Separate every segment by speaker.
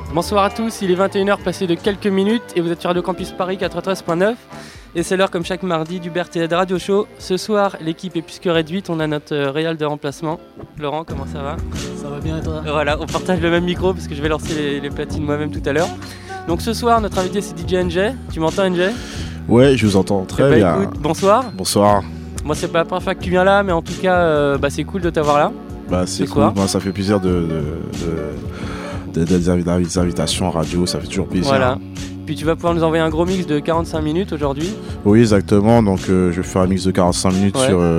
Speaker 1: Bonsoir à tous, il est 21h passé de quelques minutes et vous êtes sur Radio Campus Paris 93.9 et c'est l'heure comme chaque mardi du BRTZ Radio Show. Ce soir l'équipe est plus que réduite, on a notre réal de remplacement. Laurent, comment ça va ?
Speaker 2: Ça va bien et toi ?
Speaker 1: Voilà, on partage le même micro parce que je vais lancer les platines moi-même tout à l'heure. Donc ce soir notre invité c'est DJ NJ, tu m'entends NJ ?
Speaker 3: Ouais, je vous entends très bien.
Speaker 1: Écoute, bonsoir.
Speaker 3: Bonsoir.
Speaker 1: Moi c'est pas la première fois que tu viens là mais en tout cas c'est cool de t'avoir là.
Speaker 3: C'est cool, moi, ça fait plaisir des invitations en radio, ça fait toujours plaisir.
Speaker 1: Voilà. Puis tu vas pouvoir nous envoyer un gros mix de 45 minutes aujourd'hui.
Speaker 3: Oui, exactement. Donc je vais faire un mix de 45 minutes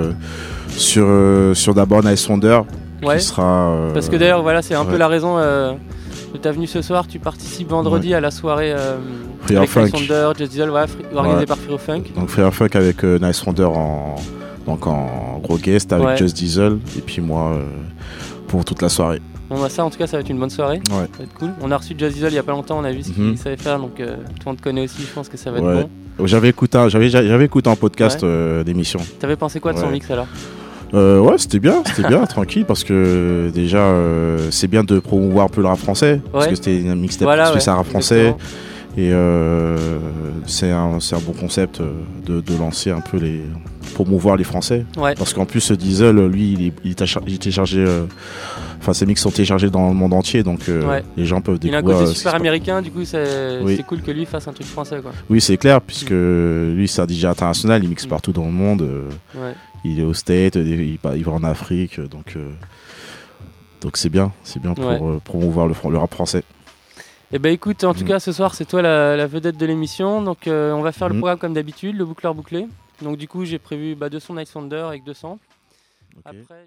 Speaker 3: sur d'abord Nice Wonder qui sera.
Speaker 1: Parce que d'ailleurs, voilà, c'est un peu la raison de ta venue ce soir. Tu participes vendredi à la soirée avec Nice Wonder, Just Diesel, organisée par Free Funk.
Speaker 3: Donc Free Funk avec Nice Wonder en gros guest avec Just Diesel et puis moi pour toute la soirée.
Speaker 1: Bon, bah ça en tout cas ça va être une bonne soirée, ça va être cool. On a reçu Just Diesel il y a pas longtemps, on a vu ce qu'il savait faire, donc tout le monde connaît aussi, je pense que ça va être bon.
Speaker 3: J'avais écouté un podcast d'émission.
Speaker 1: T'avais pensé quoi de son mix alors ?
Speaker 3: C'était bien, tranquille, parce que déjà c'est bien de promouvoir un peu le rap français, parce que c'était un mixtape spécial rap français. Et c'est un bon concept de lancer un peu promouvoir les Français. Parce qu'en plus Diesel, lui, il était chargé. Ses mix sont téléchargés dans le monde entier, donc les gens peuvent découvrir.
Speaker 1: Il a un côté super américain, du coup c'est cool que lui fasse un truc français, quoi.
Speaker 3: Oui, c'est clair, puisque lui c'est un DJ international, il mixe partout dans le monde. Il est au States, il va en Afrique, donc c'est bien pour promouvoir le rap français.
Speaker 1: Eh ben écoute, en tout cas ce soir c'est toi la vedette de l'émission, donc on va faire le programme comme d'habitude, le boucleur bouclé. Donc du coup j'ai prévu 2 sons Nice Wonder avec 2 samples. Après...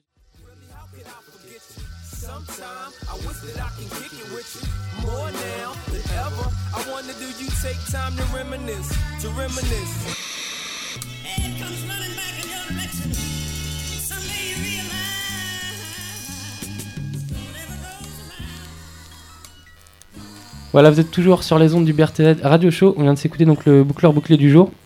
Speaker 1: Voilà, vous êtes toujours sur les ondes du BRTZ Radio Show. On vient de s'écouter donc le boucleur bouclé du jour.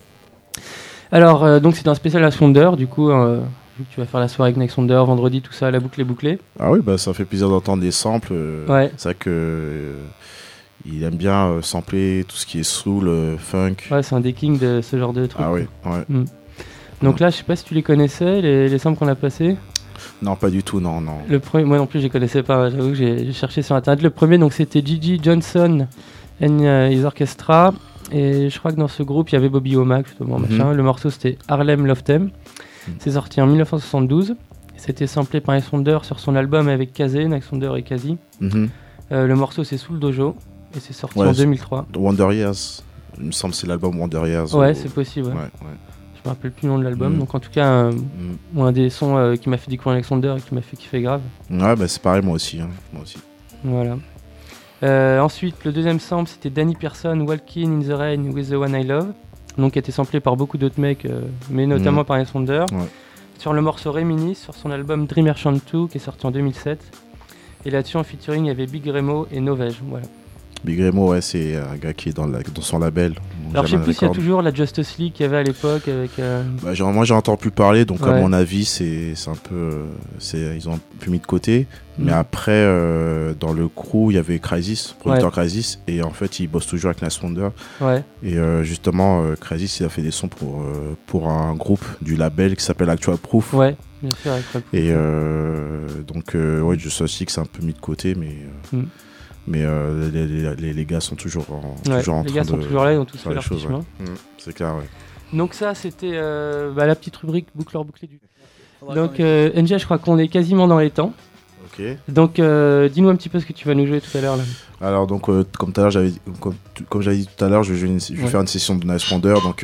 Speaker 1: Alors, donc c'est un spécial Nice Wonder, du coup, vu que tu vas faire la soirée avec Nice Wonder vendredi, tout ça, la boucle est bouclée.
Speaker 3: Ah oui, ça fait plaisir d'entendre des samples. C'est vrai que il aime bien sampler tout ce qui est soul, funk.
Speaker 1: Ouais, c'est un des kings de ce genre de trucs.
Speaker 3: Ah oui, ouais.
Speaker 1: Donc là, je sais pas si tu les connaissais, les samples qu'on a passés.
Speaker 3: Non, pas du tout, non.
Speaker 1: Le premier, moi non plus, je les connaissais pas. J'avoue que j'ai cherché sur internet. Le premier, donc c'était Gigi Johnson and his Orchestra. Et je crois que dans ce groupe, il y avait Bobby Womack, justement, machin. Le morceau, c'était Harlem Love Theme. C'est sorti en 1972. C'était samplé par Nice Wonder sur son album avec Kazé, Nice Wonder et Kazi. Le morceau, c'est Soul Dojo. Et c'est sorti en 2003.
Speaker 3: Wonder Years. Il me semble que c'est l'album Wonder Years.
Speaker 1: Ouais, c'est possible. Ouais. Je me rappelle plus le nom de l'album. Donc en tout cas, un des sons qui m'a fait découvrir Nice Wonder et qui m'a fait kiffer grave.
Speaker 3: Ouais, c'est pareil, moi aussi.
Speaker 1: Voilà. Ensuite, le deuxième sample, c'était Danny Pearson, Walking in the Rain with the One I Love. Donc qui a été samplé par beaucoup d'autres mecs, mais notamment par Nice Wonder. Sur le morceau Reminisce, sur son album Dream Merchant 2, qui est sorti en 2007. Et là-dessus, en featuring, il y avait Big Remo et Novej. Voilà.
Speaker 3: Big Remo, c'est un gars qui est dans son label.
Speaker 1: Alors je sais plus s'il y a toujours la Justice League qu'il y avait à l'époque avec...
Speaker 3: moi j'en entends plus parler, donc à mon avis c'est un peu... ils ont un peu mis de côté. Mais après, dans le crew, il y avait Crisis, producteur Crisis, et en fait il bosse toujours avec Nice Wonder. Et justement, Crisis il a fait des sons pour un groupe du label qui s'appelle Actual Proof.
Speaker 1: Ouais, bien sûr, Actual Proof.
Speaker 3: Et donc, je sais aussi que c'est un peu mis de côté, mais les gars sont toujours en train de...
Speaker 1: Les gars sont toujours là, ils ont tous fait leur petit chemin.
Speaker 3: C'est clair,
Speaker 1: Donc ça, c'était la petite rubrique boucleur bouclé du... Donc NJ, je crois qu'on est quasiment dans les temps.
Speaker 3: Ok.
Speaker 1: Donc dis-nous un petit peu ce que tu vas nous jouer tout à l'heure là.
Speaker 3: Alors donc comme j'avais dit tout à l'heure, je vais faire une session de Nice Wonder, donc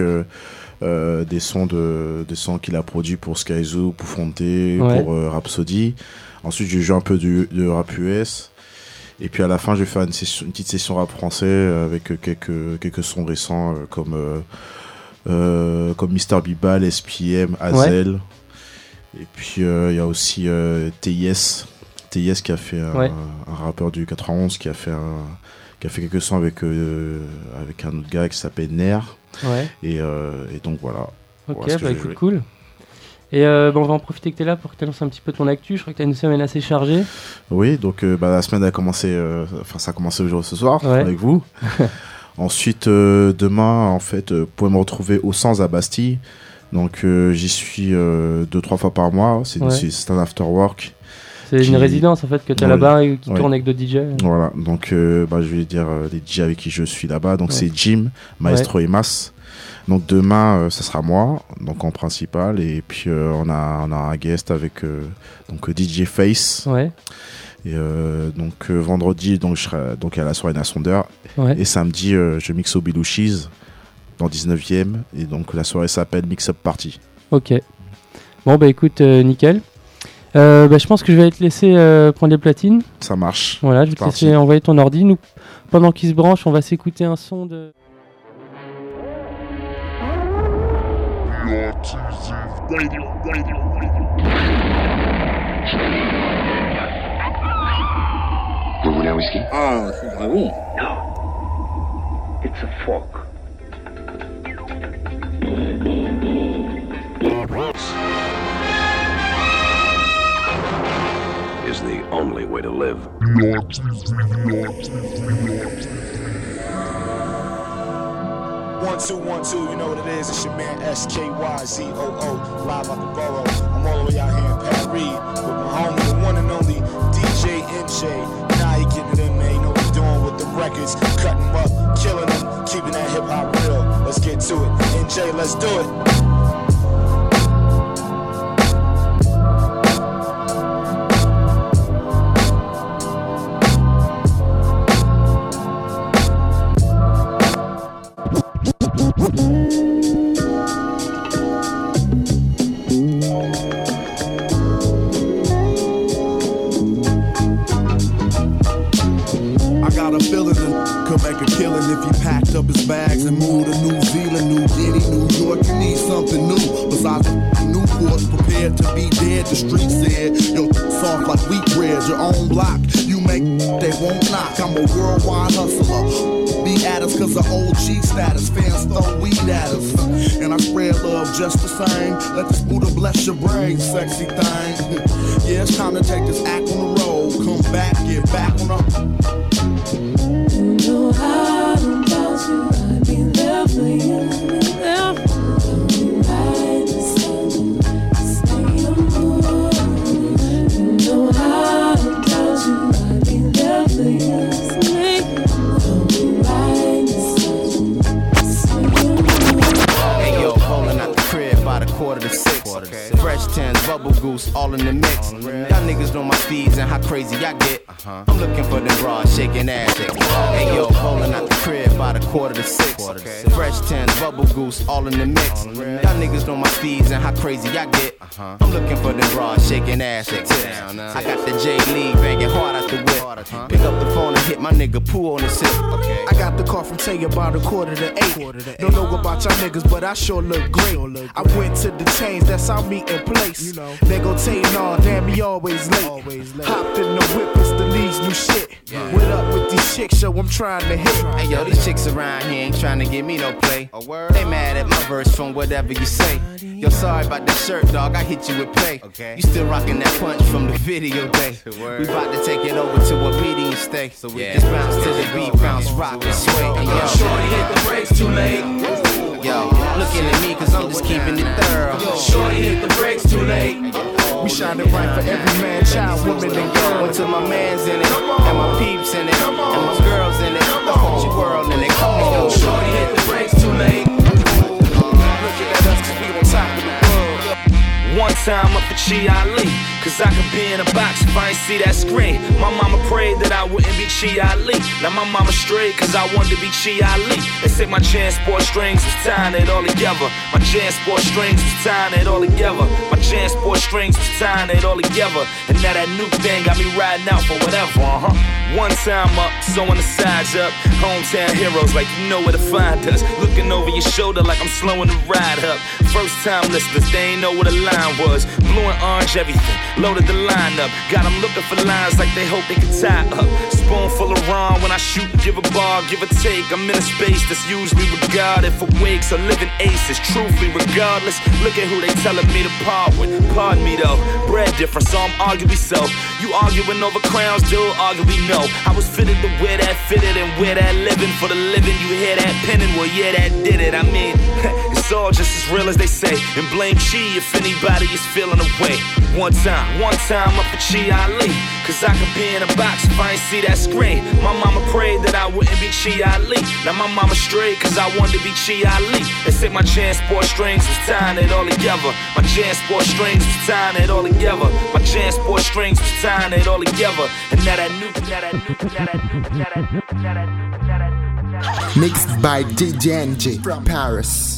Speaker 3: des sons qu'il a produits pour Skyzoo, pour Fonte, pour Rhapsody. Ensuite, je joue un peu de rap US. Et puis à la fin, je vais faire une petite session rap français avec quelques sons récents comme Mr. Bibal, SPM, Hazel. Et puis il y a aussi TIS qui a fait un rappeur du 91 qui a fait quelques sons avec un autre gars qui s'appelle Nair. Et donc voilà.
Speaker 1: Ok, écoute, cool. Et on va en profiter que tu es là pour que tu annonces un petit peu ton actu. Je crois que tu as une semaine assez chargée.
Speaker 3: Oui, donc la semaine a commencé, ça a commencé aujourd'hui ce soir avec vous. Ensuite, demain, en fait, vous pouvez me retrouver au Sens à Bastille. Donc j'y suis 2-3 fois par mois. C'est un after work.
Speaker 1: C'est une résidence en fait que tu as là-bas et qui tourne avec d'autres DJ.
Speaker 3: Voilà, donc je vais dire les DJ avec qui je suis là-bas. Donc c'est Jim, Maestro et Mas. Donc demain, ça sera moi, donc en principal. Et puis on a un guest avec donc DJ Face.
Speaker 1: Ouais.
Speaker 3: Et donc vendredi, donc je serai donc à la soirée Nasonder. Ouais. Et samedi, je mixe au Belouchies dans 19e. Et donc la soirée s'appelle Mix Up Party.
Speaker 1: Ok. Bon bah écoute, nickel. Je pense que je vais te laisser prendre les platines.
Speaker 3: Ça marche.
Speaker 1: Voilà, je vais te laisser envoyer ton ordi. Nous, pendant qu'il se branche, on va s'écouter un son de...
Speaker 2: Vous voulez un whisky?
Speaker 4: Ah, c'est très bon.
Speaker 2: No. It's a fork. Is the only way to live.
Speaker 4: 1, 2, 1, 2, you know what it is. It's your man SKYZOO, live out the borough. I'm all the way out here in Paris with my homie, the one and only DJ NJ. Now he getting it in, man. You know what he's doing with the records, cutting them up, killing them, keeping that hip hop real. Let's get to it. NJ, let's do it.
Speaker 5: Up his bags and moved to New Zealand, New Guinea, New York. You need something new besides Newport. Prepared to be dead. The street said, yo, soft like wheat bread. Your own block, you make they won't knock. I'm a worldwide hustler. Be at us cause of OG status. Fans throw weed at us, and I spread love just the same. Let this Buddha bless your brain, sexy thing. Yeah, it's time to take this act on the road. Come back, get back on the.
Speaker 6: You know I don't doubt you, I'd be there for you, there for you. I'll be right beside you, stay on board. You know I don't doubt you, I'd be there for you, I'll be right beside you, stay on board.
Speaker 7: Hey yo, rolling out the crib by the 5:45. Fresh 10s, bubble goose, all in the mix. Y'all niggas know my speeds and how crazy I get. I'm looking for them bras, shaking ass. Hey yo, rolling out the crib by the 5:45. Fresh 10s, bubble goose, all in the mix. Y'all niggas know my speeds and how crazy I get. I'm looking for them bras, shaking ass at tips. I got the J League banging hard out the whip. Pick up the phone and hit my nigga Pooh on the sip.
Speaker 8: I got the call from Tay about 7:45. Don't know about y'all niggas, but I sure look great. I went to the chains, that's our meeting place. They go Tay, nah, damn, he always late. Hopped in the whip, it's the Lee's new shit. What up with these chicks, yo, I'm trying to hit.
Speaker 7: Hey yo, these chicks around here ain't trying to give me no play. They mad at my verse from whatever you say. Yo, sorry about that shirt, dog, I hit you with pay. You still rocking that punch from the video day. We about to take it over to a meeting and stay. So we just bounce to the beat, bounce, rock and sway. And yo,
Speaker 9: shorty hit the brakes too late.
Speaker 7: Yo, looking at me cause I'm just keeping it thorough.
Speaker 9: Shorty hit the brakes too late.
Speaker 8: We shining bright for every man, child, woman, and girl.
Speaker 7: Until my man's in it, and my peeps in it, and my girls in it, the whole world in it. Come on,
Speaker 9: shorty hit the brakes too late.
Speaker 8: Look at us cause we on top of the world.
Speaker 9: One time up for Chi Ali, cause I could be in a box if I ain't see that screen. My mama prayed that I wouldn't be Chi Ali. Now my mama straight cause I wanted to be Chi Ali. They say my transport strings was tying it all together. My transport strings was tying it all together. My transport strings was tying it all together. And now that new thing got me riding out for whatever, One time up, sewing the sides up. Hometown heroes like you know where to find us. Looking over your shoulder like I'm slowing the ride up. First time listeners, they ain't know what a line was. Blue and orange everything, loaded the lineup. Got them looking for lines like they hope they can tie up. Spoonful of rum when I shoot and give a bar, give or take. I'm in a space that's usually regarded for wakes or living aces. Truthfully, regardless, look at who they telling me to part with. Pardon me though, bread different, so I'm arguably so. You arguing over crowns, dude, arguably no. I was fitted to wear that fitted and wear that living. For the living, you hear that penning, well yeah, that did it. I mean, it's all just as real as they say. And blame Chi if anybody is feeling away. One time up for Chi Ali. Cause I could be in a box if I ain't see that screen. My mama prayed that I wouldn't be Chi Ali. Now my mama straight cause I wanted to be Chi Ali. They said my transport strings was tying it all together. My transport strings was tying it all together. My transport strings was tying it all together. And now that new,
Speaker 10: mixed by DJ NJ from Paris.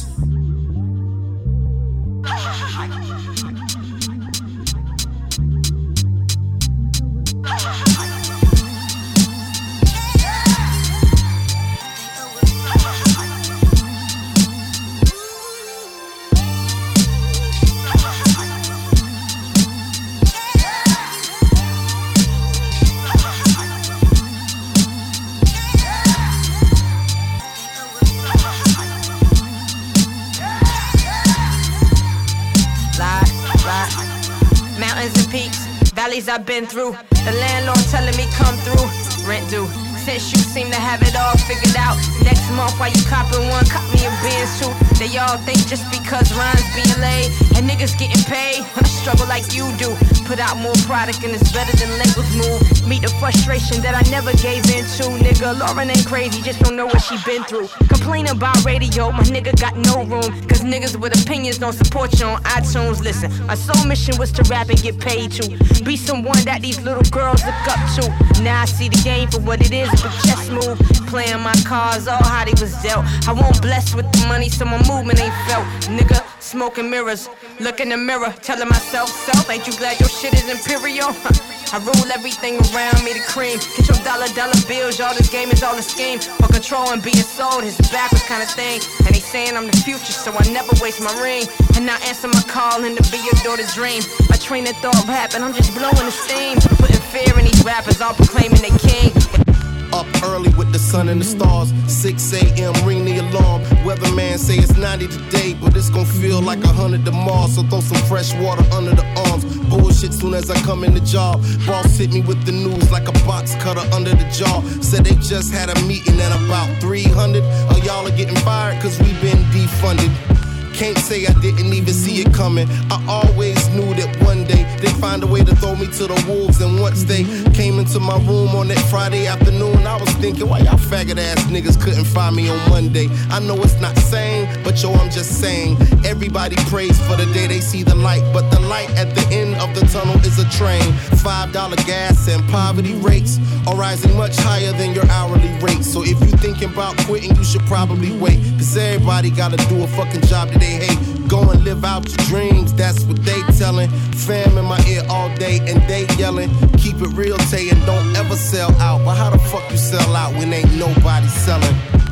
Speaker 11: I've been through, the landlord telling me come through, rent due. Since you seem to have it all figured out, next month while you copping one, cop me a Benz too. They all think just because rhymes being laid and niggas getting paid, I struggle like you do. Put out more product and it's better than labels move. Meet the frustration that I never gave into. Nigga, Lauren ain't crazy, just don't know what she been through. Complain about radio, my nigga got no room. Cause niggas with opinions don't support you on iTunes. Listen, my sole mission was to rap and get paid to be someone that these little girls look up to. Now I see the game for what it is, a big chess move. Playing my cards, all how they was dealt. I won't bless with the money, so my movement ain't felt. Nigga, smoking mirrors, look in the mirror, telling myself, self, ain't you glad your shit is imperial? I rule everything around me, the cream. Get your dollar bills, y'all, this game is all a scheme. For control and being sold, it's a backwards kind of thing. And they saying I'm the future, so I never waste my ring. And I answer my call and to be your daughter's dream. My train of thought rap, and I'm just blowing the steam. Putting fear in these rappers, all proclaiming they king.
Speaker 12: Up early with the sun and the stars, 6 a.m. ring the alarm. Weatherman say it's 90 today, but it's gon' feel like 100 tomorrow. So throw some fresh water under the arms. Bullshit soon as I come in the job. Boss hit me with the news like a box cutter under the jaw. Said they just had a meeting and about 300 of y'all are getting fired cause we been defunded. Can't say I didn't even see it coming. I always knew that one day they'd find a way to throw me to the wolves. And once they came into my room on that Friday afternoon, I was thinking, why y'all faggot ass niggas couldn't find me on Monday? I know it's not sane, but yo, I'm just saying. Everybody prays for the day they see the light, but the light at the end of the tunnel is a train. $5 gas and poverty rates are rising much higher than your hourly rate. So if you thinking about quitting, you should probably wait. Cause everybody gotta do a fucking job that they hate. Go and live out your dreams, that's what they telling. Fam in my ear all day and they yelling. Keep it real, Tay, and don't ever sell out. But how the fuck you sell out when ain't nobody selling?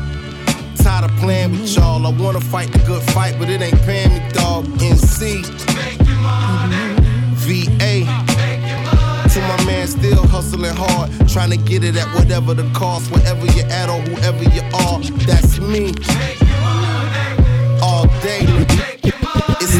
Speaker 12: Tired of playing with y'all. I wanna fight the good fight, but it ain't paying me, dog. NC, VA. To my man still hustling hard, trying to get it at whatever the cost, wherever you're at or whoever you are. That's me. All day. It's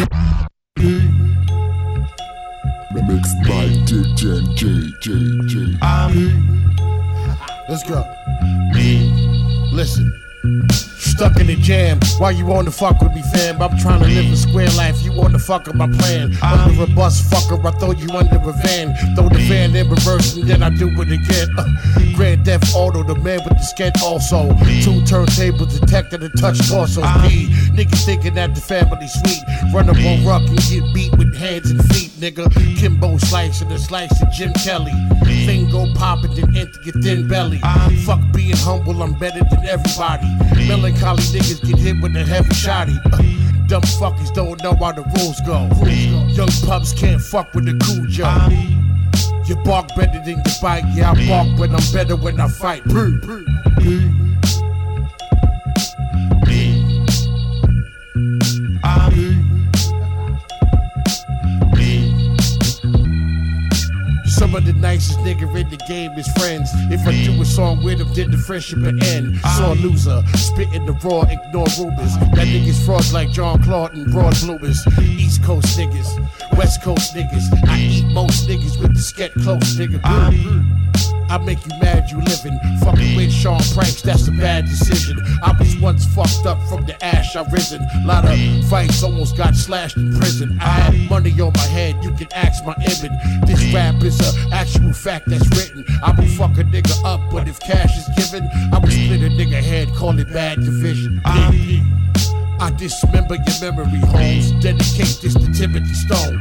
Speaker 10: mixed by DJ JJ.
Speaker 13: Let's go. Listen. Stuck in the jam, why you wanna fuck with me, fam? I'm trying to live a square life, you wanna fuck with my plan. Under a bus, fucker, I throw you under a van. Throw the van in reverse and then I do it again. Grand Theft Auto, the man with the sketch also. 2 turntables, detected and touch torso. P, niggas thinking that the family sweet. Run up on Ruck and get beat with hands and feet, nigga. Kimbo slicing and slicing Jim Kelly. Thing go poppin', then enter your thin belly. Fuck being humble, I'm better than everybody. Melancholy niggas get hit with a heavy shotty. Dumb fuckers don't know how the rules go. Young pups can't fuck with the Cujo. You bark better than you bite. Yeah, I bark, but I'm better when I fight. nicest nigga in the game is friends. If I do a song with him, then the friendship will end. Sore loser, spitting the raw, ignore rumors. That niggas frauds like John Claude and broad bloomers. East Coast niggas, West Coast niggas. I eat most niggas with the sket close, nigga. I make you mad you living. Fucking with Sean Pranks, that's a bad decision. I was once fucked up from the ash I risen. Lot of fights, almost got slashed in prison. I had money on my head, you can ask my image. This rap is a actual fact that's written. I will fuck a nigga up, but if cash is given, I will split a nigga head, call it bad division. I dismember your memory, homes. Dedicate this to Timothy Stone.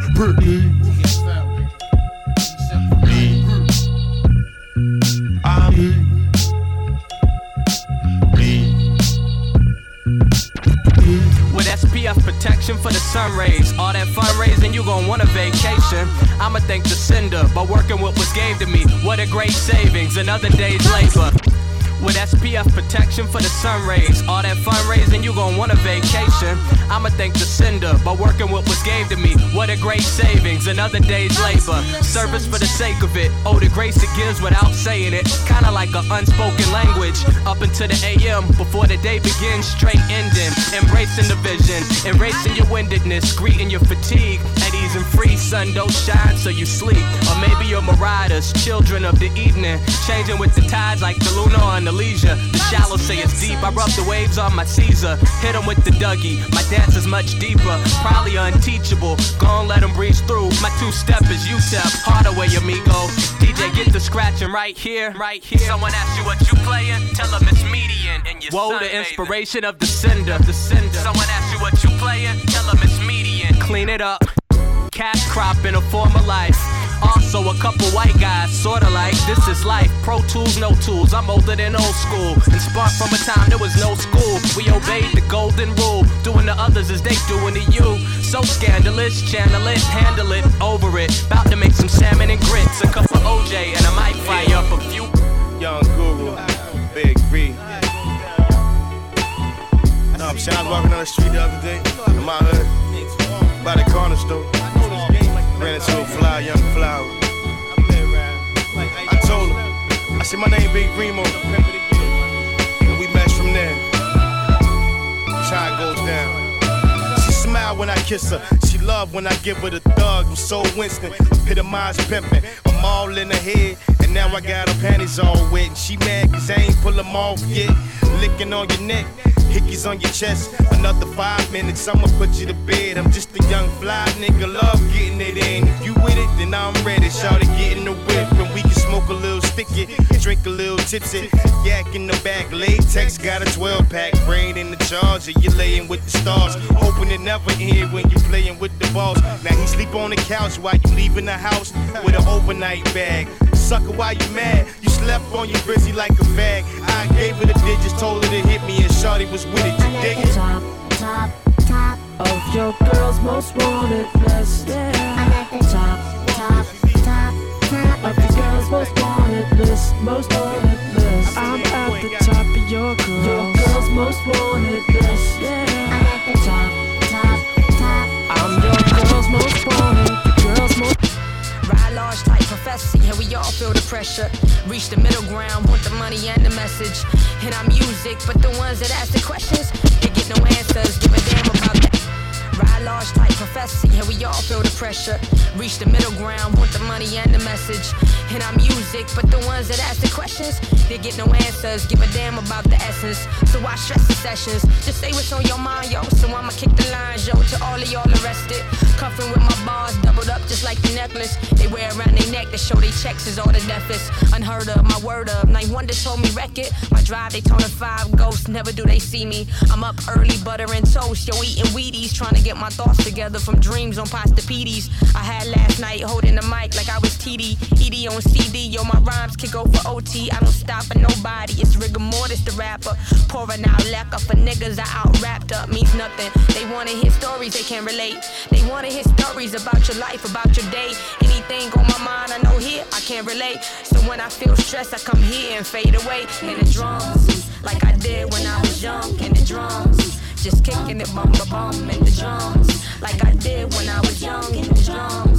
Speaker 14: With SPF protection for the sun rays, all that fundraising, you gon' want a vacation. I'ma thank the sender by working what was gave to me. What a great savings, another day's labor. With SPF protection for the sun rays, all that fundraising, you gon' want a vacation. I'ma thank the sender by working what was gave to me. What a great savings, another day's labor. Service for the sake of it, oh the grace it gives without saying it. Kinda like an unspoken language, up until the AM, before the day begins, straight ending. Embracing the vision, erasing your windedness, greeting your fatigue. At ease and free, sun don't shine so you sleep. Or maybe you're marauders, children of the evening, changing with the tides like the lunar on the leisure. The shallow say it's deep, I rub the waves on my Caesar. Hit them with the Dougie, my dance is much deeper, probably unteachable. Gon' let them breeze through, my two-step is UTEP, Hardaway amigo. DJ get the scratching right here, right here. Someone asks you what you playin', tell them it's median and your whoa, the inspiration of the sender, the sender. Someone asks you what you playin', tell them it's median. Clean it up, cash crop in a former life. Also a couple white guys, sorta like this is life. Pro tools, no tools, I'm older than old school. And spark from a time there was no school. We obeyed the golden rule, doing to others as they doing to you. So scandalous, channel it, handle it, over it. About to make some salmon and grits, a cup of OJ, and I might fry up a few.
Speaker 12: Young Guru, Big B. No, I'm saying I was walking down the street the other day, in my hood, by the corner store. Ran into a fly, young flower. I told her, I said my name Big Remo, and we matched from there. That's how it goes down. She smiled when I kiss her, she loved when I give her the thug. I'm so Winston, epitomized pimpin'. I'm all in her head, and now I got her panties all wet. And she mad cause I ain't pull them off yet. Licking on your neck, hickeys on your chest. Another 5 minutes, I'ma put you to bed. I'm just a young fly nigga, love getting it in. If you with it, then I'm ready. Shawty get in the whip, and we can smoke a little sticky, drink a little tipsy. Yak in the back, latex got a 12-pack. Brain in the charger, you layin' with the stars. Hoping it never end when you playin' with the boss. Now he sleep on the couch while you leaving the house with an overnight bag. Sucker, why you mad? You slept on your brizzy like a bag. I gave her the digits, told her to hit me, and shawty was with it. You dig it?
Speaker 6: Top of your girl's most wanted list. I'm at the top of your girl's most wanted list. Most wanted list. I'm at the top of your girl's most wanted list. I'm at the top. I'm your girl's most wanted. Girl's most.
Speaker 11: Ride large type professor, yeah, we all feel the pressure. Reach the middle ground, want the money and the message. And I'm music, but the ones that ask the questions, they get no answers, give a damn about that. Ride large type professor, yeah, we all feel the pressure. Reach the middle ground, want the money and the message. And I'm music, but the ones that ask the questions, they get no answers, give a damn about the essence. So why stress the sessions? Just say what's on your mind, yo. So I'ma kick the lines, yo, to all of y'all arrested. Cuffing with my bars, doubled up just like the necklace they wear around their neck to show they checks is all the deafest. Unheard of, my word of. Night Wonder told me wreck it. My drive, they Daytona 5 ghosts, never do they see me. I'm up early, butter and toast, yo, eating Wheaties, trying to get my thoughts together from dreams on pasta PDs. I had last night holding the mic like I was TD. ED on CD, yo, my rhymes can go for OT. I don't stop for nobody, it's rigor mortis the rapper. Pouring out lacquer for niggas I out wrapped up means nothing. They wanna hear stories they can't relate. They wanna hear stories about your life, about your day. Anything on my mind I know here, I can't relate. So when I feel stressed, I come here and fade away. In the drums, like I did when I was young. In the drums, just kicking it bum ba bum in the drums. Like I did when I was young. In the drums,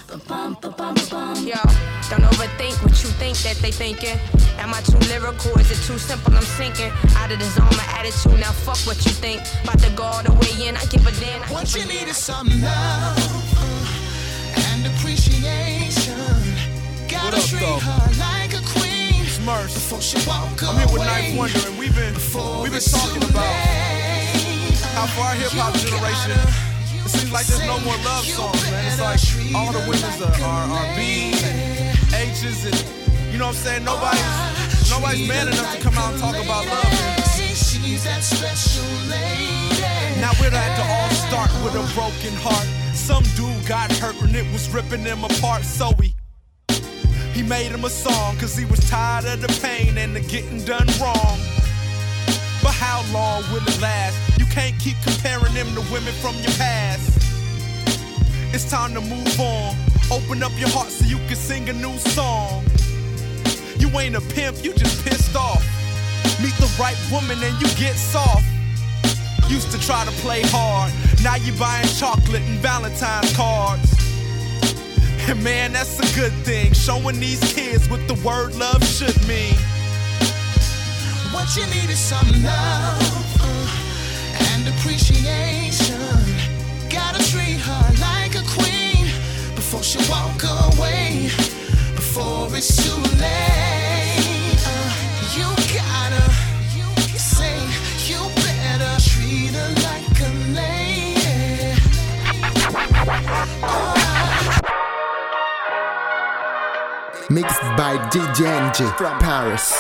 Speaker 11: Yo, don't overthink what you think that they thinking. Am I too lyrical? Is it too simple? I'm sinking out of the zone, my attitude. Now fuck what you think. About to go all the way in. I give a damn.
Speaker 15: What you need is some love and appreciation. Gotta treat her like a queen before she walk away.
Speaker 16: I'm here with Knife Wonder, and we've been talking about how for our hip hop generation, it seems like there's no more love songs, man. It's like all the women's are B's and H's, and you know what I'm saying? Nobody's man enough to come out and talk about love.
Speaker 15: She's that special lady.
Speaker 16: Now we'd have to all start with a broken heart. Some dude got hurt and it was ripping him apart, so he made him a song, cause he was tired of the pain and the getting done wrong. But how long will it last? You can't keep comparing them to women from your past. It's time to move on. Open up your heart so you can sing a new song. You ain't a pimp, you just pissed off. Meet the right woman and you get soft. Used to try to play hard, now you buying chocolate and Valentine's cards. And man, that's a good thing, showing these kids what the word love should mean.
Speaker 15: What you need is some love and appreciation. Gotta treat her like a queen before she walk away, before it's too late. You gotta say you better treat her like a lady.
Speaker 10: Mixed by DJ NJ from Paris.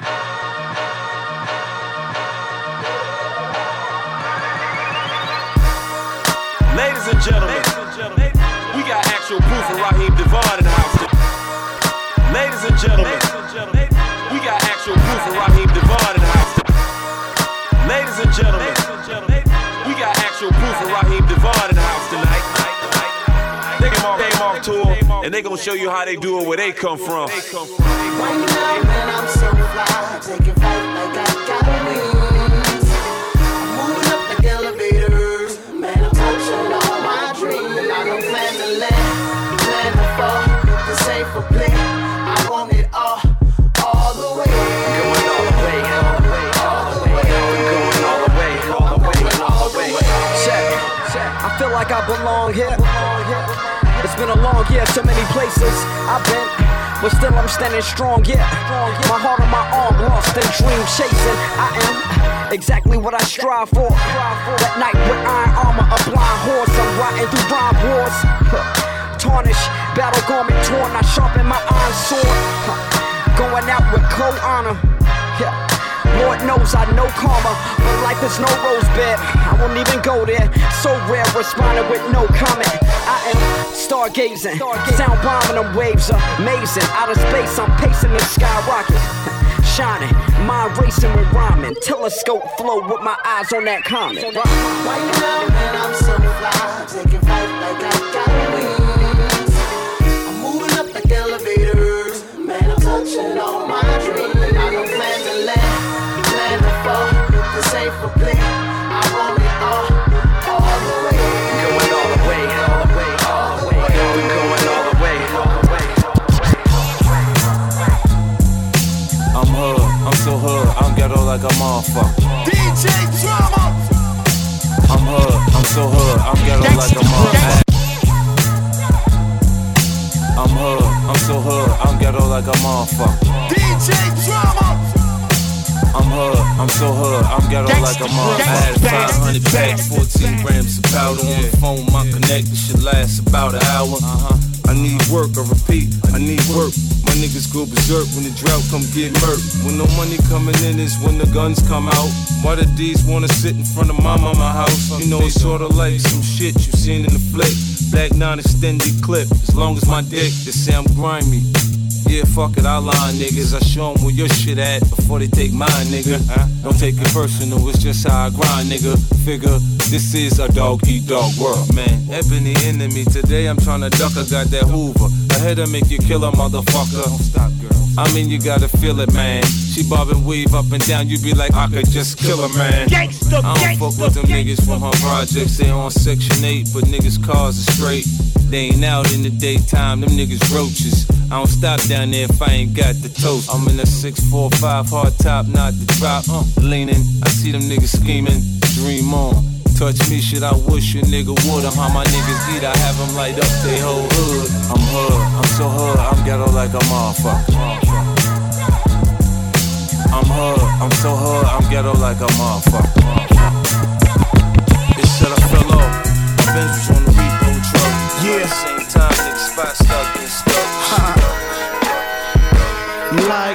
Speaker 9: Ladies and gentlemen, we got actual proof of Raheem Devon in the house. Ladies and gentlemen, we got actual proof of Raheem Devon in the house. Ladies and gentlemen, we got actual proof of Raheem Devon in the house tonight. They came off tour, and they gonna show you how they do it where they come from.
Speaker 15: Right now, man, I'm so fly, taking flight like I got wings. I'm moving up like elevators, man, I'm touching all my dreams. And I don't plan to land, plan to fall, this ain't for play. I want it all the way.
Speaker 9: Going all the way, all the way, all the way. Going all the way, all the way, all the way.
Speaker 17: Check. I feel like I belong here. It's been a long year, so many places I've been, but still I'm standing strong, yeah. My heart on my arm, lost in dream chasing. I am exactly what I strive for. That night with iron armor, a blind horse, I'm riding through rhyme wars. Tarnish, battle garment torn, I sharpen my iron sword. Going out with cold honor, yeah. Lord knows I know karma, but life is no rose bed. I won't even go there. So rare, responding with no comment. I am stargazing, sound bombing them waves amazing. Out of space, I'm pacing the skyrocket, shining, mind racing with rhyming. Telescope flow with my eyes on that comet.
Speaker 15: Right now, man, I'm so fly, taking flight like I got wings. I'm moving up like elevators, man, I'm touching all my dreams. And I don't plan to land. This ain't for play. I want it all the way.
Speaker 9: Going all the way, all the way, all the way. We going all the way, all the way. I'm hood, I'm so hood, I'm ghetto like a motherfucker.
Speaker 15: DJ Drama.
Speaker 9: I'm hood, I'm so hood, I'm ghetto like a motherfucker. I'm hood, I'm so hood, I'm ghetto like a motherfucker.
Speaker 15: DJ Drama.
Speaker 9: I'm hood, I'm so hood, I'm ghetto like a motherfucker. I had 500 packs, 14 grams of powder on the phone. My connector should last about an hour. I need work, I repeat, I need work. My niggas go berserk when the drought come get murked. When no money coming in is when the guns come out. Why the D's wanna sit in front of my house? You know it's sorta like some shit you seen in the flick. Black 9 extended clip, as long as my dick, they say I'm grimy. Yeah, fuck it, I lie, niggas. I show them where your shit at before they take mine, nigga. Don't take it personal, it's just how I grind, nigga. Figure, this is a dog-eat-dog world, man. Ebony enemy, today I'm tryna duck, I got that Hoover. I
Speaker 18: hitter make you kill a motherfucker. Don't stop, girl. I mean, you gotta feel it, man. She bob and weave up and down, you be like, I could just kill a man.
Speaker 8: Gangsta,
Speaker 18: I don't fuck with them niggas from her projects. They on Section 8, but niggas' cars are straight. They ain't out in the daytime, them niggas roaches. I don't stop down there if I ain't got the toast. I'm in a 645 hard top, not the drop. Leaning, I see them niggas scheming. Dream on. Touch me, shit, I wish a nigga would. I'm how my niggas eat, I have them light up they whole hood. I'm hood, I'm so hood, I'm ghetto like a motherfucker. I'm hood, I'm so hood, I'm ghetto like a motherfucker. This shit I fell off, Avengers on the repo truck.
Speaker 8: Yeah.
Speaker 18: At the same time, niggas spot stuck and stuck.
Speaker 8: Like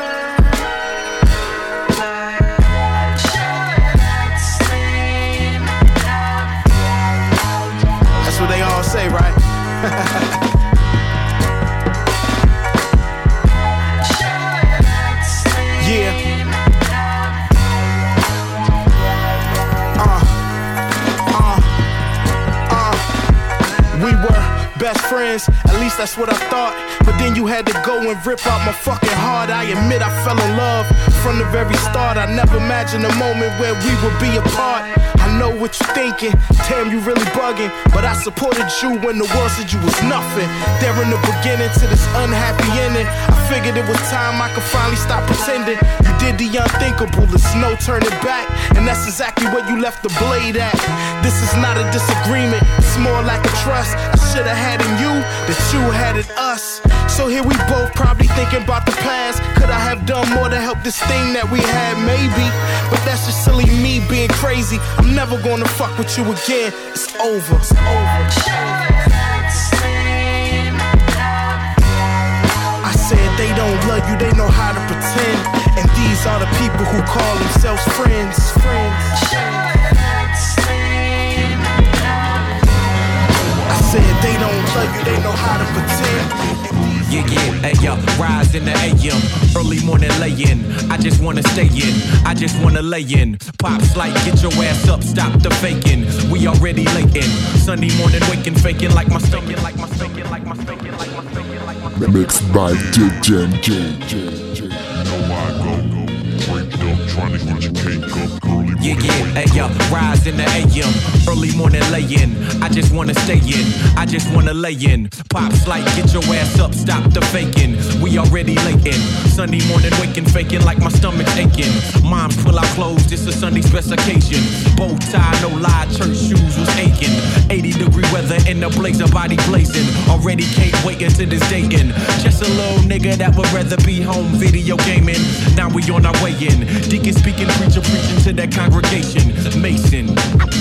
Speaker 8: that's what they all say, right? Yeah. We were best friends, at least that's what I thought. But then you had to go and rip out my fucking heart. I admit I fell in love from the very start. I never imagined a moment where we would be apart. I know what you're thinking, damn, you really bugging. But I supported you when the world said you was nothing. There in the beginning to this unhappy ending, I figured it was time I could finally stop pretending. You did the unthinkable, there's no turning back. And that's exactly where you left the blade at. This is not a disagreement, it's more like a trust. I should've had in you that you had in us. So here we both probably thinking about the past. Could I have done more to help this thing that we had? Maybe, but that's just silly me being crazy. I'm never gonna fuck with you again. It's over. It's over. I said they don't love you, they know how to pretend. And these are the people who call themselves friends. I said they don't love you, they know how to pretend.
Speaker 19: Yeah, hey, yo, rise in the AM, early morning lay-in. I just wanna stay in, I just wanna lay in. Pops like, get your ass up, stop the faking. We already late in, Sunday morning waking, faking like my stomach, like my stomach, like my stomach, like my stomach, like my stomach.
Speaker 5: Mixed by DJ J.
Speaker 20: Know I go, break it up, trying to get your cake up, early morning.
Speaker 19: Yeah, hey, yo, rise in the AM, early morning lay-in. I just wanna stay in, I just wanna lay in. Pops like, get your ass up, stop the faking. We already late in, Sunday morning waking, faking like my stomach's aching. Moms pull out clothes, this a Sunday special occasion. Bow tie, no lie, church shoes was aching. 80-degree weather in the blazer, body blazing. Already can't wait until this dating. Just a little nigga that would rather be home video gaming. Now we on our way in. Deacon speaking, preacher preaching to that congregation. Mason.